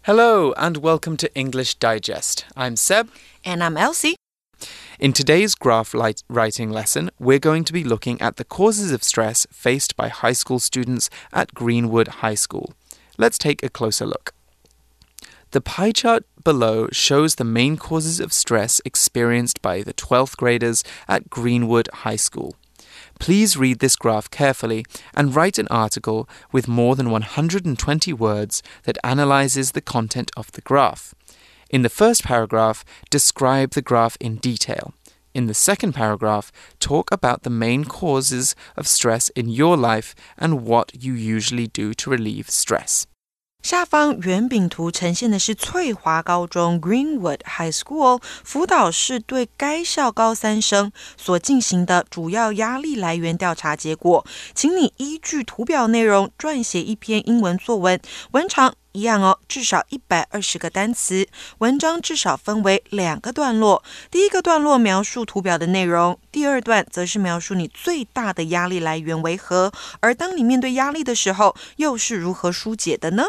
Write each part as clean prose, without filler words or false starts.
Hello and welcome to English Digest. I'm Seb. And I'm Elsie. In today's graph writing lesson, we're going to be looking at the causes of stress faced by high school students at Greenwood High School. Let's take a closer look. The pie chart below shows the main causes of stress experienced by the 12th graders at Greenwood High School. Please read this graph carefully and write an article with more than 120 words that analyzes the content of the graph. In the first paragraph, describe the graph in detail. In the second paragraph, talk about the main causes of stress in your life and what you usually do to relieve stress. 下方圓餅圖呈現的是翠華高中 Greenwood High School 輔導室對該校高三生所進行的主要壓力來源調查結果，請你依據圖表內容撰寫一篇英文作文，文長一樣哦，至少120個單詞，文章至少分為2個段落，第一個段落描述圖表的內容，第二段則是描述你最大的壓力來源為何，而當你面對壓力的時候，又是如何疏解的呢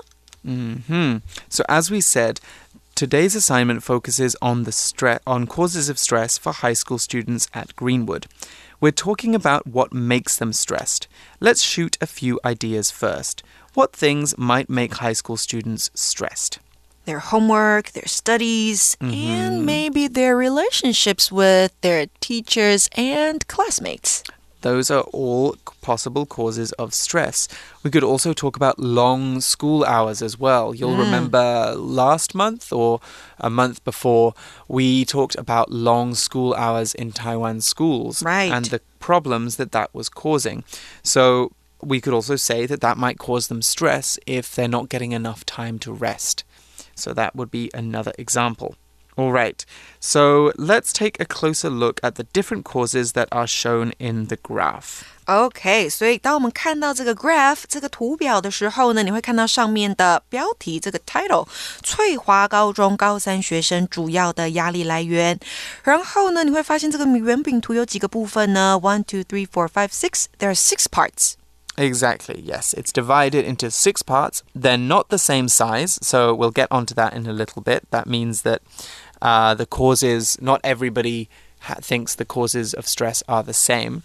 So as we said, today's assignment focuses on on causes of stress for high school students at Greenwood. We're talking about what makes them stressed. Let's shoot a few ideas first. What things might make high school students stressed? Their homework, their studies, and maybe their relationships with their teachers and classmates. Those are all possible causes of stress. We could also talk about long school hours as well. You'll remember last month or a month before, we talked about long school hours in Taiwan schools and the problems that was causing. So we could also say that might cause them stress if they're not getting enough time to rest. So that would be another example. All right, so let's take a closer look at the different causes that are shown in the graph. OK, 所以當我們看到這個 graph 這個圖表的時候呢，你會看到上面的標題這個 title 翠華高中高三學生主要的壓力來源。然後呢，你會發現這個圓餅圖有幾個部分呢 1, 2, 3, 4, 5, 6 There are 6 parts. Exactly, yes. It's divided into 6 parts. They're not the same size, so we'll get onto that in a little bit. That means that the causes, not everybody thinks the causes of stress are the same.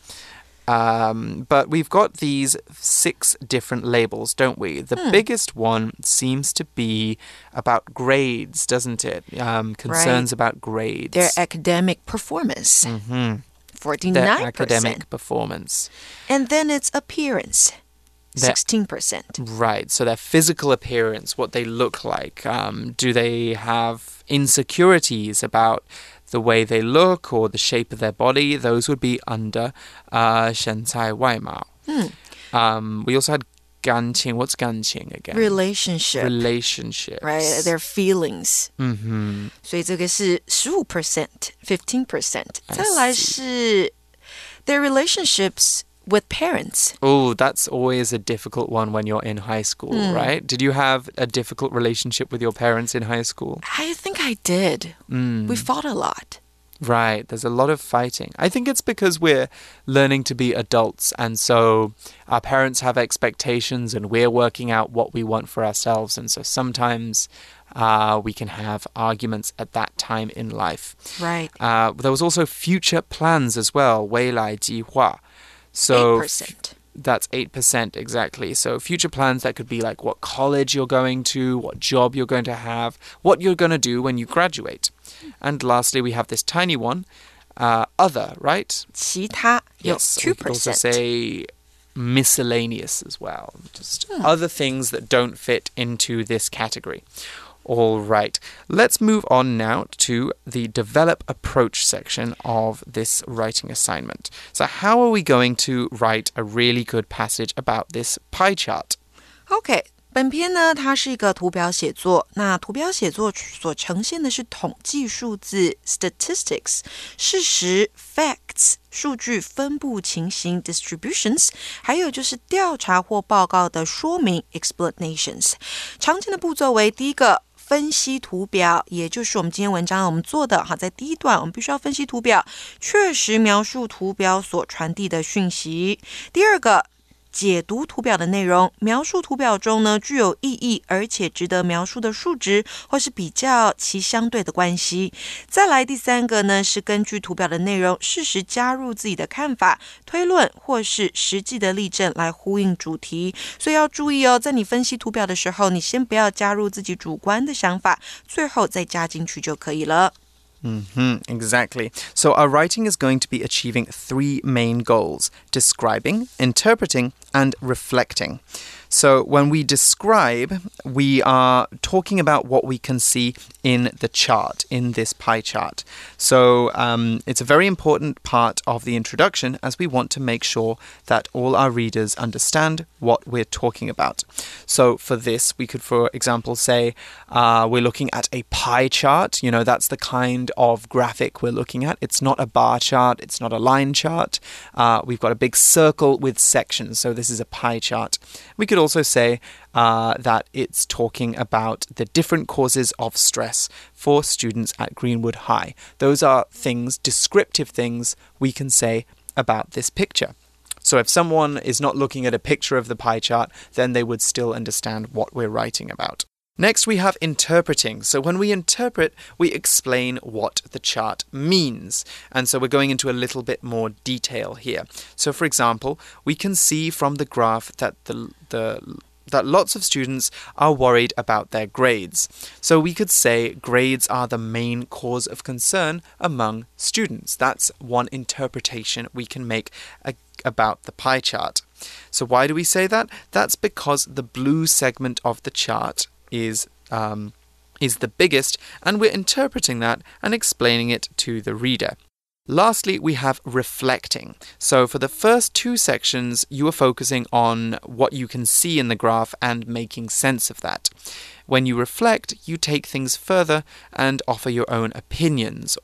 But we've got these 6 different labels, don't we? The biggest one seems to be about grades, doesn't it? Concerns about grades. Their academic performance. 49%. Their academic performance. And then it's appearance. 16%. Right, so their physical appearance, what they look like. Do they have insecurities about the way they look or the shape of their body? Those would be under 身材外貌. We also had 感情. What's 感情 again? Relationships. Right, their feelings. 所以这個是15%, 15%. 再來是 their relationships with parents. Oh, that's always a difficult one when you're in high school, right? Did you have a difficult relationship with your parents in high school? I think I did. We fought a lot. Right, there's a lot of fighting. I think it's because we're learning to be adults, and so our parents have expectations and we're working out what we want for ourselves, and so sometimes we can have arguments at that time in life. Right. There was also future plans as well, 未来計劃. So 8%. That's 8%, exactly. So future plans, that could be like what college you're going to, what job you're going to have, what you're going to do when you graduate. And lastly, we have this tiny one, other, right? 其他 Yes, 2%. we could also say miscellaneous as well. Just other things that don't fit into this category. All right, let's move on now to the develop approach section of this writing assignment. So how are we going to write a really good passage about this pie chart? OK, 本篇呢，它是一個圖表寫作。那圖表寫作所呈現的是統計數字 statistics, 事實 facts, 數據分布情形 distributions, 還有就是調查或報告的說明 explanations. 常見的步驟為第一個分析圖表，也就是我們今天文章我們做的在第一段我們必須要分析圖表，確實描述圖表所傳遞的訊息。第二個解讀圖表的內容，描述圖表中呢具有意義而且值得描述的數值，或是比較其相對的關係。再來第三個呢是根據圖表的內容，適時加入自己的看法、推論或是實際的例證來呼應主題。所以要注意哦，在你分析圖表的時候，你先不要加入自己主觀的想法，最後再加進去就可以了。 Exactly. So our writing is going to be achieving 3 main goals: describing, interpreting, and reflecting. So when we describe, we are talking about what we can see in the chart, in this pie chart. So it's a very important part of the introduction, as we want to make sure that all our readers understand what we're talking about. So for this, we could, for example, say we're looking at a pie chart. You know, that's the kind of graphic we're looking at. It's not a bar chart. It's not a line chart. We've got a big circle with sections. So this is a pie chart. We could also say that it's talking about the different causes of stress for students at Greenwood High. Those are things, descriptive things, we can say about this picture. So if someone is not looking at a picture of the pie chart, then they would still understand what we're writing about. Next, we have interpreting. So when we interpret, we explain what the chart means. And so we're going into a little bit more detail here. So for example, we can see from the graph that that lots of students are worried about their grades. So we could say grades are the main cause of concern among students. That's one interpretation we can make about the pie chart. So why do we say that? That's because the blue segment of the chart is the biggest, and we're interpreting that and explaining it to the reader. Lastly, we have reflecting. So for the first 2 sections, you are focusing on what you can see in the graph and making sense of that. When you reflect, you take things further and offer your own opinions,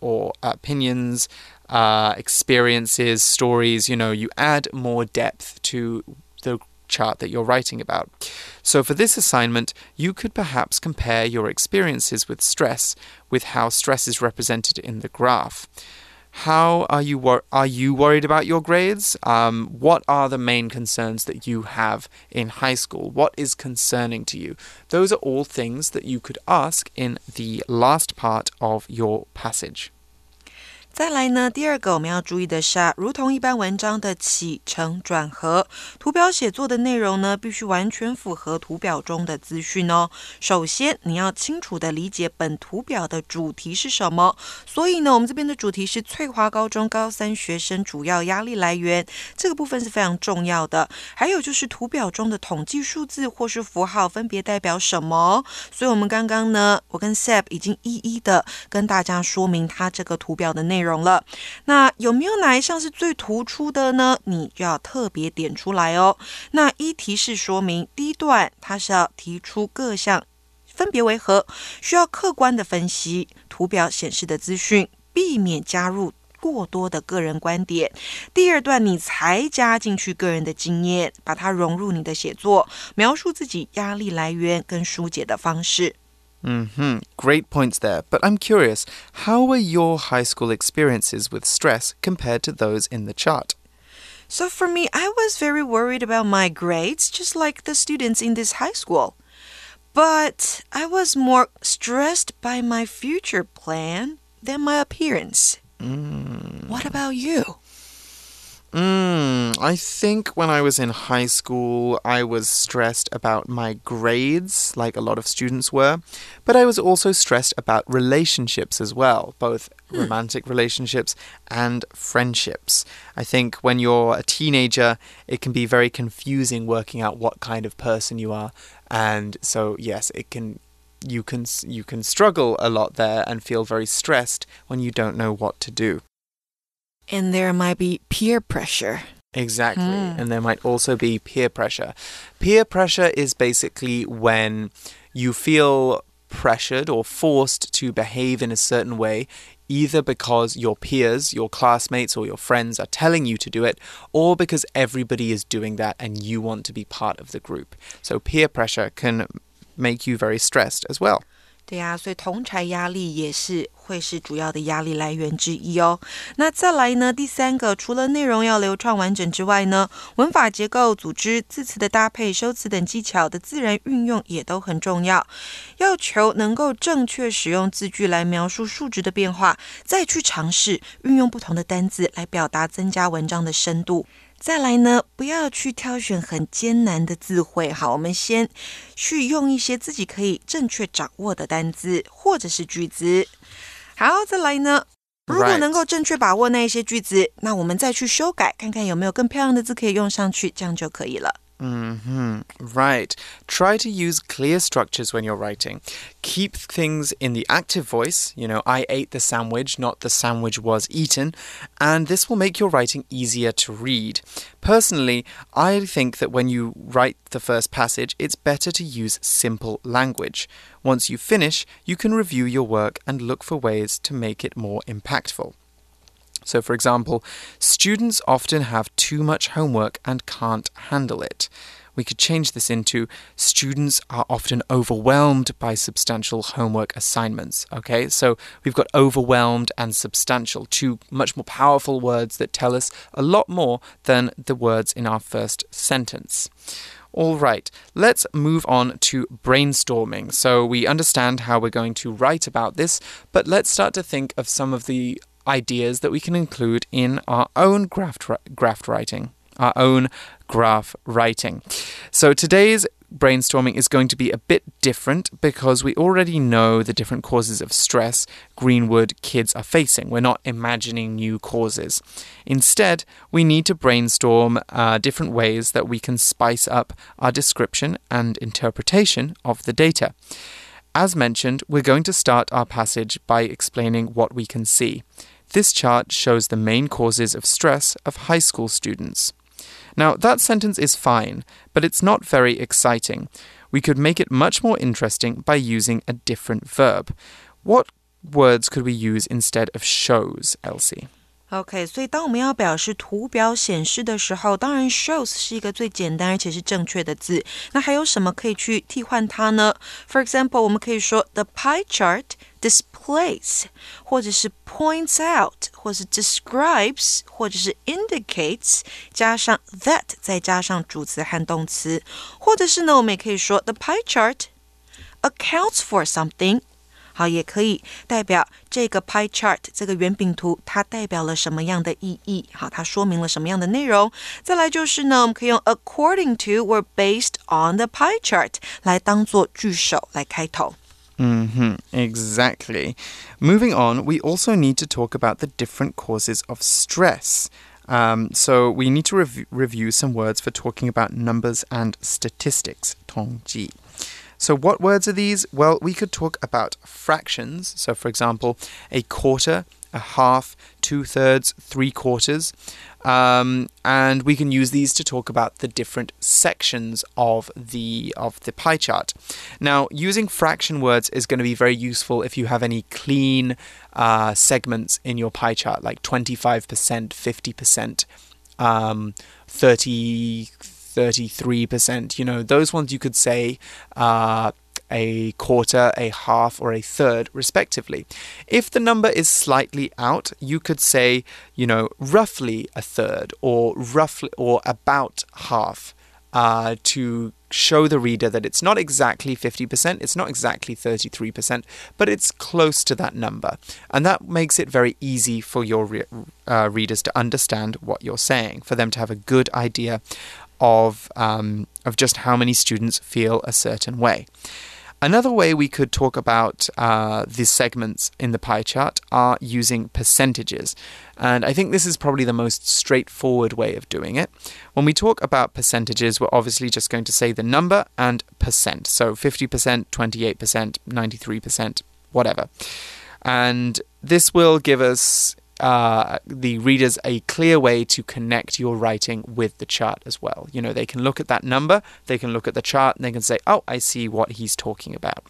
experiences, stories. You know, you add more depth to the chart that you're writing about. So for this assignment, you could perhaps compare your experiences with stress with how stress is represented in the graph. How are you worried about your grades? What are the main concerns that you have in high school? What is concerning to you? Those are all things that you could ask in the last part of your passage. 再來呢，第二個我們要注意的是如同一般文章的起承轉合，圖表寫作的內容呢，必須完全符合圖表中的資訊哦。首先，你要清楚地理解本圖表的主題是什麼。所以呢，我們這邊的主題是翠華高中高3學生主要壓力來源，這個部分是非常重要的。還有就是圖表中的統計數字或是符號分別代表什麼。所以我們剛剛呢，我跟 Seb 已經一一的跟大家說明它這個圖表的內容了。那有沒有哪一項是最突出的呢？你就要特別點出來哦。那依提示說明，第一段它是要提出各項分別為何，需要客觀的分析圖表顯示的資訊，避免加入過多的個人觀點。第二段你才加進去個人的經驗，把它融入你的寫作，描述自己壓力來源跟疏解的方式。 Great points there. But I'm curious, how were your high school experiences with stress compared to those in the chart? So for me, I was very worried about my grades, just like the students in this high school. But I was more stressed by my future plan than my appearance. What about you? I think when I was in high school, I was stressed about my grades, like a lot of students were. But I was also stressed about relationships as well, both romantic relationships and friendships. I think when you're a teenager, it can be very confusing working out what kind of person you are. And so, yes, you can struggle a lot there and feel very stressed when you don't know what to do. And there might be peer pressure. Exactly. And there might also be peer pressure. Peer pressure is basically when you feel pressured or forced to behave in a certain way, either because your peers, your classmates, or your friends are telling you to do it, or because everybody is doing that and you want to be part of the group. So peer pressure can make you very stressed as well. 對呀，所以同儕壓力也是會是主要的壓力來源之一哦。那再來呢，第三個，除了內容要流暢完整之外呢，文法結構、組織、字詞的搭配、修辭等技巧的自然運用也都很重要。要求能夠正確使用字句來描述數值的變化，再去嘗試運用不同的單字來表達，增加文章的深度。再來呢，不要去挑選很艱難的字彙。好，我們先去用一些自己可以正確掌握的單字或者是句子。好，再來呢，如果能夠正確把握那一些句子，那我們再去修改，看看有沒有更漂亮的字可以用上去，這樣就可以了。 Right. Try to use clear structures when you're writing. Keep things in the active voice. I ate the sandwich, not the sandwich was eaten. And this will make your writing easier to read. Personally, I think that when you write the first passage, it's better to use simple language. Once you finish, you can review your work and look for ways to make it more impactful. So, for example, students often have too much homework and can't handle it. We could change this into students are often overwhelmed by substantial homework assignments. Okay, so we've got overwhelmed and substantial, two much more powerful words that tell us a lot more than the words in our first sentence. All right, let's move on to brainstorming. So we understand how we're going to write about this, but let's start to think of some of the ideas that we can include in our own graph writing. So today's brainstorming is going to be a bit different because we already know the different causes of stress Greenwood kids are facing. We're not imagining new causes. Instead, we need to brainstorm different ways that we can spice up our description and interpretation of the data. As mentioned, we're going to start our passage by explaining what we can see. This chart shows the main causes of stress of high school students. Now, that sentence is fine, but it's not very exciting. We could make it much more interesting by using a different verb. What words could we use instead of shows, Elsie? OK, 所以當我們要表示圖表顯示的時候，當然 shows 是一個最簡單而且是正確的字。那還有什麼可以去替換它呢？ For example, 我們可以說 the pie chart displays, 或者是 points out, 或是 describes, 或者是 indicates, 加上 that, 再加上主詞和動詞。或者是呢，我們也可以說 the pie chart accounts for something。好，也可以代表這個 pie chart 這個圓餅圖它代表了什麼樣的意義，好，它說明了什麼樣的內容。再來就是呢，我們可以用 according to or based on the pie chart 來當作句首來開頭。 Exactly. Moving on, we also need to talk about the different causes of stress. So we need to review some words for talking about numbers and statistics, 統計。So what words are these? Well, we could talk about fractions. So, for example, a quarter, a half, 2/3, 3/4. And we can use these to talk about the different sections of the pie chart. Now, using fraction words is going to be very useful if you have any clean segments in your pie chart, like 25%, 50%, 33%, those ones you could say a quarter, a half, or a third, respectively. If the number is slightly out, you could say, roughly a third, or roughly, or about half, to show the reader that it's not exactly 50%, it's not exactly 33%, but it's close to that number. And that makes it very easy for your readers to understand what you're saying, for them to have a good idea of just how many students feel a certain way. Another way we could talk about the segments in the pie chart are using percentages. And I think this is probably the most straightforward way of doing it. When we talk about percentages, we're obviously just going to say the number and percent. So 50%, 28%, 93%, whatever. And this will give us the readers a clear way to connect your writing with the chart as well. They can look at that number, they can look at the chart, and they can say, oh, I see what he's talking about.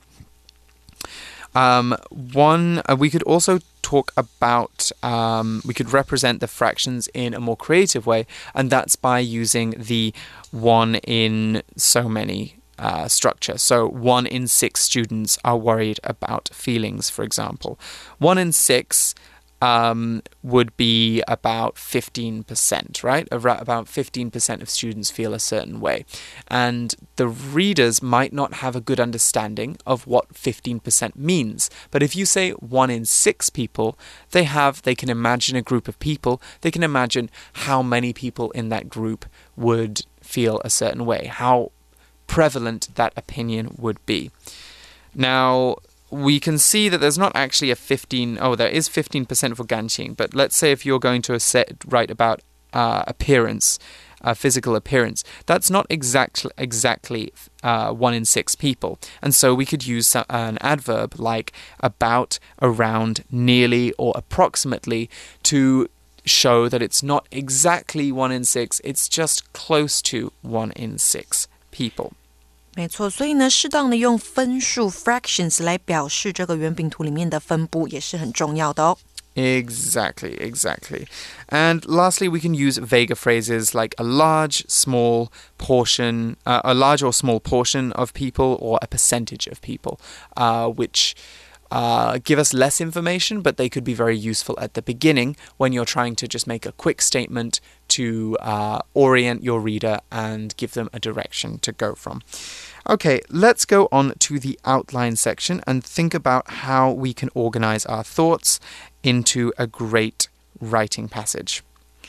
We could also talk about, we could represent the fractions in a more creative way, and that's by using the one in so many structure. So 1 in 6 students are worried about feelings, for example. 1 in 6 would be about 15%, right? About 15% of students feel a certain way. And the readers might not have a good understanding of what 15% means. But if you say 1 in 6 people, they can imagine a group of people. They can imagine how many people in that group would feel a certain way, how prevalent that opinion would be. Now, we can see that there's not actually there is 15% for Ganqing, but let's say if you're going to write about appearance, physical appearance, that's not exactly 1 in 6 people. And so we could use an adverb like about, around, nearly, or approximately to show that it's not exactly 1 in 6, it's just close to 1 in 6 people. 没错，所以呢，適当的用分数 fractions 来表示这个圆饼图里面的分布也是很重要的哦。 Exactly. And lastly, we can use vaguer phrases like a large or small portion of people or a percentage of people, which give us less information, but they could be very useful at the beginning when you're trying to just make a quick statement to orient your reader and give them a direction to go from. Okay, let's go on to the outline section and think about how we can organize our thoughts into a great writing passage.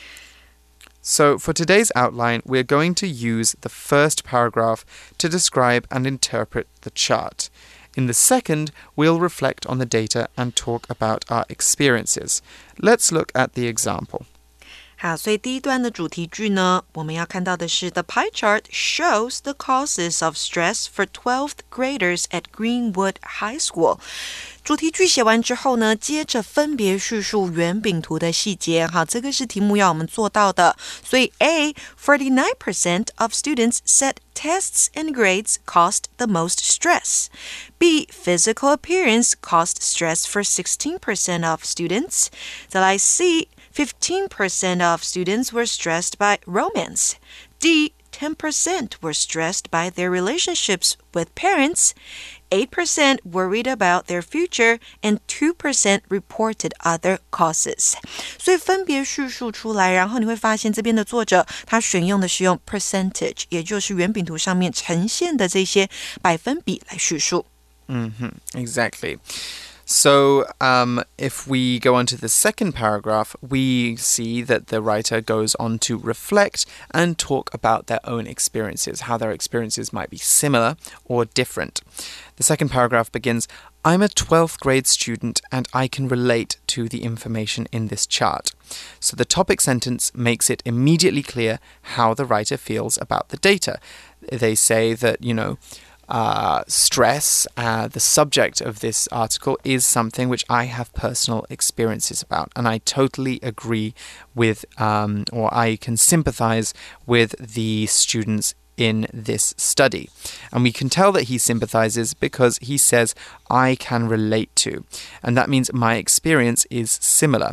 So for today's outline, we're going to use the first paragraph to describe and interpret the chart. In the second, we'll reflect on the data and talk about our experiences. Let's look at the example. 好，所以第一段的主题句呢，我们要看到的是 The pie chart shows the causes of stress for 12th graders at Greenwood High School. 主题句写完之後呢，接着分別敘述圓餅圖的細節。好，這個是題目要我們做到的。所以 A, 49% of students said tests and grades caused the most stress. B, physical appearance caused stress for 16% of students. 再來 C, 15% of students were stressed by romance. D, 10% were stressed by their relationships with parents. 8% worried about their future, and 2% reported other causes. 所以分別敘述出来，然後你會發現這邊的作者他選用的是用 percentage， 也就是圓餅圖上面呈現的這些百分比來敘述。 Exactly. So if we go on to the second paragraph, we see that the writer goes on to reflect and talk about their own experiences, how their experiences might be similar or different. The second paragraph begins, I'm a 12th grade student and I can relate to the information in this chart. So the topic sentence makes it immediately clear how the writer feels about the data. They say that, stress, the subject of this article, is something which I have personal experiences about. And I totally agree with, or I can sympathize with the students in this study. And we can tell that he sympathizes because he says, I can relate to. And that means my experience is similar.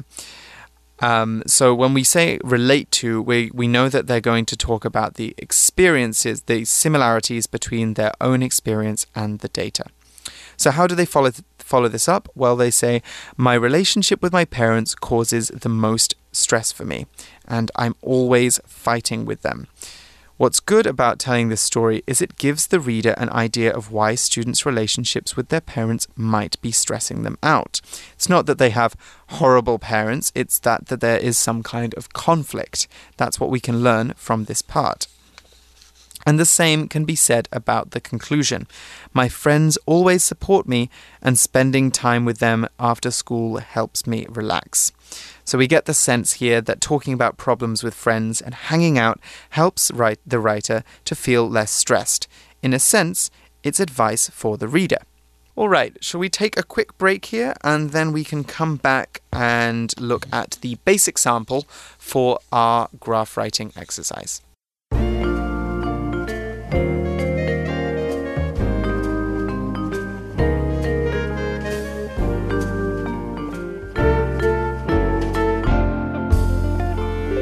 So when we say relate to, we know that they're going to talk about the experiences, the similarities between their own experience and the data. So how do they follow this up? Well, they say, my relationship with my parents causes the most stress for me, and I'm always fighting with them. What's good about telling this story is it gives the reader an idea of why students' relationships with their parents might be stressing them out. It's not that they have horrible parents, it's that there is some kind of conflict. That's what we can learn from this part. And the same can be said about the conclusion. My friends always support me, and spending time with them after school helps me relax. So we get the sense here that talking about problems with friends and hanging out helps the writer to feel less stressed. In a sense, it's advice for the reader. All right, shall we take a quick break here and then we can come back and look at the basic sample for our graph writing exercise.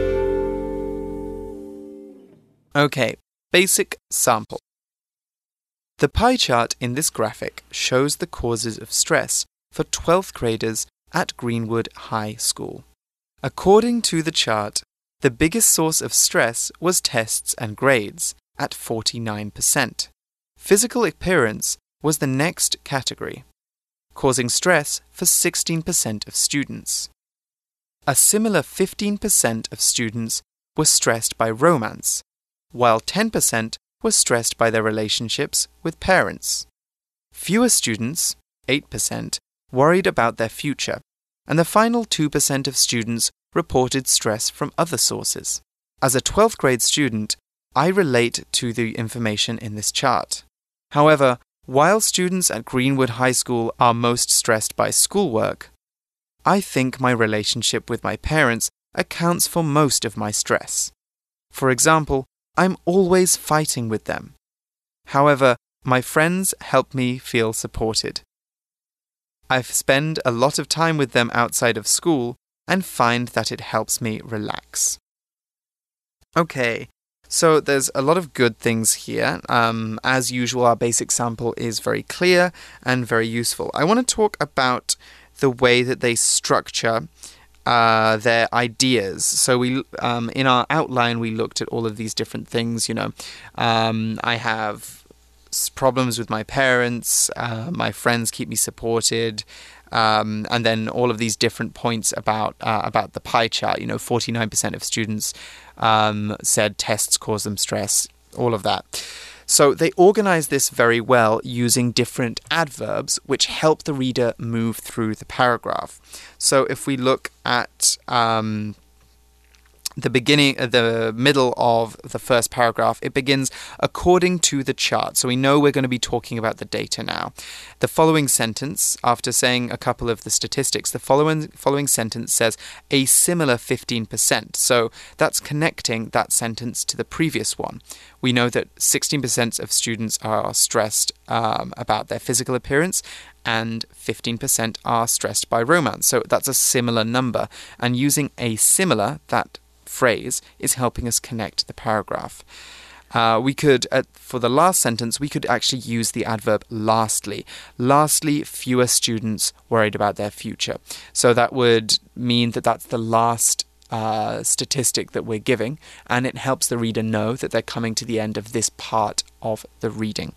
Okay, basic sample. The pie chart in this graphic shows the causes of stress for 12th graders at Greenwood High School. According to the chart, the biggest source of stress was tests and grades at 49%. Physical appearance was the next category, causing stress for 16% of students. A similar 15% of students were stressed by romance, while 10% were stressed by their relationships with parents. Fewer students, 8%, worried about their future, and the final 2% of students reported stress from other sources. As a 12th grade student, I relate to the information in this chart. However, while students at Greenwood High School are most stressed by schoolwork, I think my relationship with my parents accounts for most of my stress. For example, I'm always fighting with them. However, my friends help me feel supported. I spend a lot of time with them outside of school and find that it helps me relax. Okay, so there's a lot of good things here. As usual, our basic sample is very clear and very useful. I want to talk about the way that they structure their ideas. So in our outline, we looked at all of these different things. I have problems with my parents, my friends keep me supported, and then all of these different points about the pie chart. 49% of students said tests cause them stress, all of that. So they organize this very well using different adverbs which help the reader move through the paragraph. So if we look at the middle of the first paragraph, it begins according to the chart. So we know we're going to be talking about the data now. The following sentence, after saying a couple of the statistics, the following sentence says a similar 15%. So that's connecting that sentence to the previous one. We know that 16% of students are stressed about their physical appearance, and 15% are stressed by romance. So that's a similar number. And using a similar, that phrase is helping us connect the paragraph. We could, for the last sentence, we could actually use the adverb lastly. Lastly, fewer students worried about their future. So that would mean that that's the last statistic that we're giving, and it helps the reader know that they're coming to the end of this part of the reading.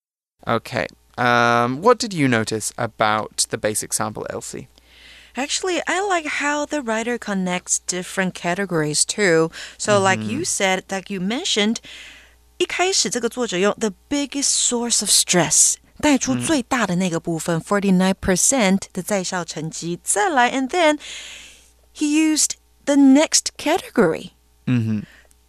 Okay, what did you notice about the basic sample, Elsie? Actually, I like how the writer connects different categories too. So like you said, like you mentioned, 一開始這個作者用 the biggest source of stress 帶出最大的那個部分 49% 的在校成績。再來 and then he used the next category. And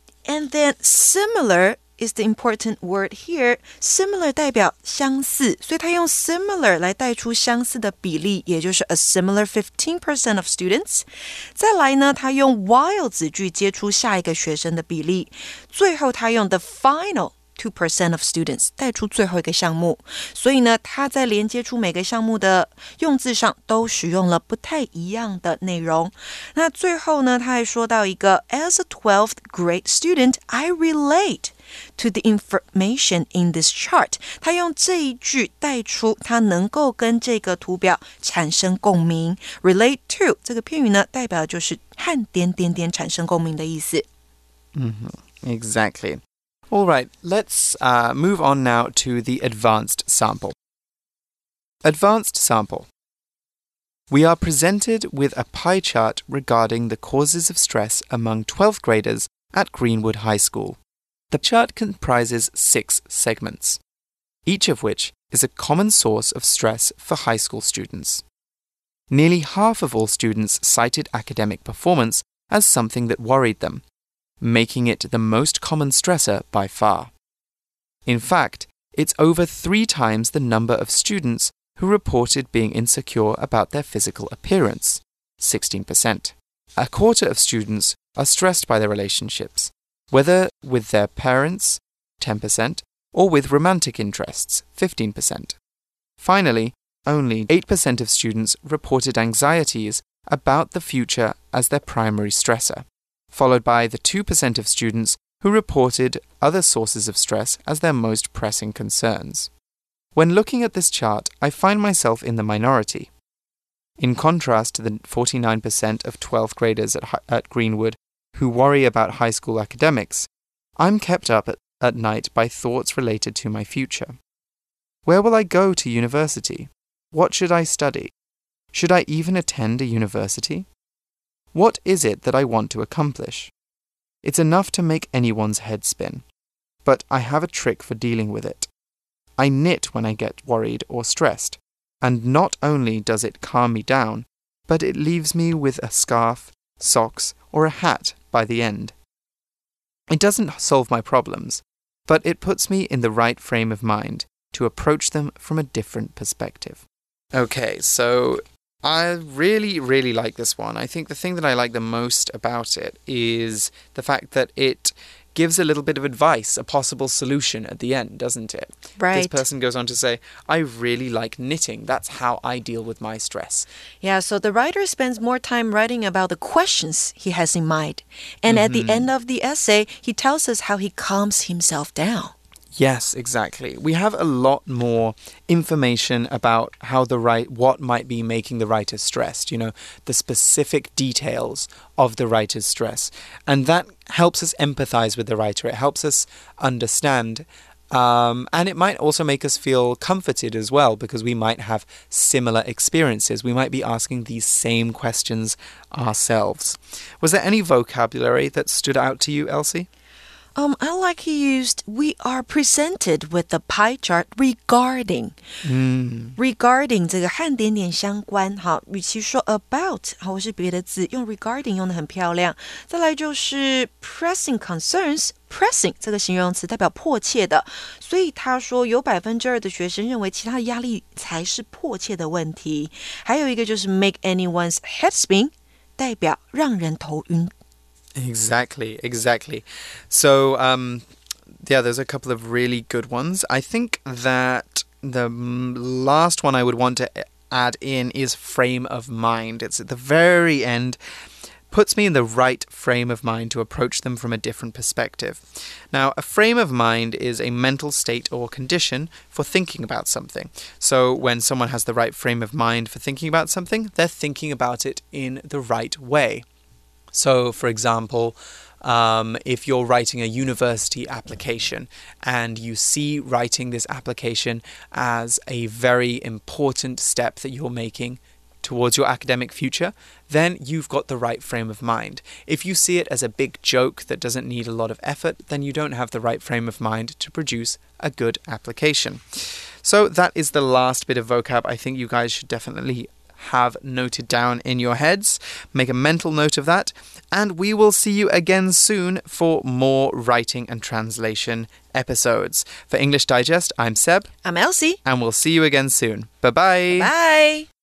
then similar is the important word here. Similar 代表相似，所以他用 similar 來帶出相似的比例，也就是 a similar 15% of students. 再來呢，他用 while 子句接出下一個學生的比例，最後他用 the final 2% of students 帶出最後一個項目，所以呢，他在連接出每個項目的用字上都使用了不太一樣的內容。那最後呢，他還說到一個 As a 12th grade student, I relate to the information in this chart. 他用這一句帶出他能夠跟這個圖表產生共鳴。Relate to 這個片語呢，代表就是和點點點產生共鳴的意思。 Exactly. All right, let's move on now to the advanced sample. Advanced sample. We are presented with a pie chart regarding the causes of stress among 12th graders at Greenwood High School. The chart comprises 6 segments, each of which is a common source of stress for high school students. Nearly half of all students cited academic performance as something that worried them, making it the most common stressor by far. In fact, it's over 3 times the number of students who reported being insecure about their physical appearance, 16%. A quarter of students are stressed by their relationships, whether with their parents, 10%, or with romantic interests, 15%. Finally, only 8% of students reported anxieties about the future as their primary stressor, followed by the 2% of students who reported other sources of stress as their most pressing concerns. When looking at this chart, I find myself in the minority. In contrast to the 49% of 12th graders at Greenwood who worry about high school academics, I'm kept up at night by thoughts related to my future. Where will I go to university? What should I study? Should I even attend a university? What is it that I want to accomplish? It's enough to make anyone's head spin. But I have a trick for dealing with it. I knit when I get worried or stressed, and not only does it calm me down, but it leaves me with a scarf, socks, or a hat by the end. It doesn't solve my problems, but it puts me in the right frame of mind to approach them from a different perspective. Okay, so I really, really like this one. I think the thing that I like the most about it is the fact that it gives a little bit of advice, a possible solution at the end, doesn't it? Right. This person goes on to say, I really like knitting. That's how I deal with my stress. Yeah, so the writer spends more time writing about the questions he has in mind. And at the end of the essay, he tells us how he calms himself down. Yes, exactly. We have a lot more information about how what might be making the writer stressed, the specific details of the writer's stress. And that helps us empathize with the writer. It helps us understand. And it might also make us feel comforted as well, because we might have similar experiences. We might be asking these same questions ourselves. Was there any vocabulary that stood out to you, Elsie? I like he used, we are presented with the pie chart regarding. Regarding 这个和点点相关，好，与其说 about 或是別的字，用 regarding 用得很漂亮。再來就是 pressing concerns。Pressing 這個形容詞代表迫切的，所以他說有2%的學生認為其他的壓力才是迫切的問題。還有一個就是 make anyone's head spin， 代表讓人頭暈。 Exactly. So, there's a couple of really good ones. I think that the last one I would want to add in is frame of mind. It's at the very end. Puts me in the right frame of mind to approach them from a different perspective. Now, a frame of mind is a mental state or condition for thinking about something. So when someone has the right frame of mind for thinking about something, they're thinking about it in the right way. So, for example, if you're writing a university application and you see writing this application as a very important step that you're making towards your academic future, then you've got the right frame of mind. If you see it as a big joke that doesn't need a lot of effort, then you don't have the right frame of mind to produce a good application. So that is the last bit of vocab I think you guys should definitely have noted down in your heads. Make a mental note of that. And we will see you again soon for more writing and translation episodes. For English Digest, I'm Seb. I'm Elsie. And we'll see you again soon. Bye-bye. Bye.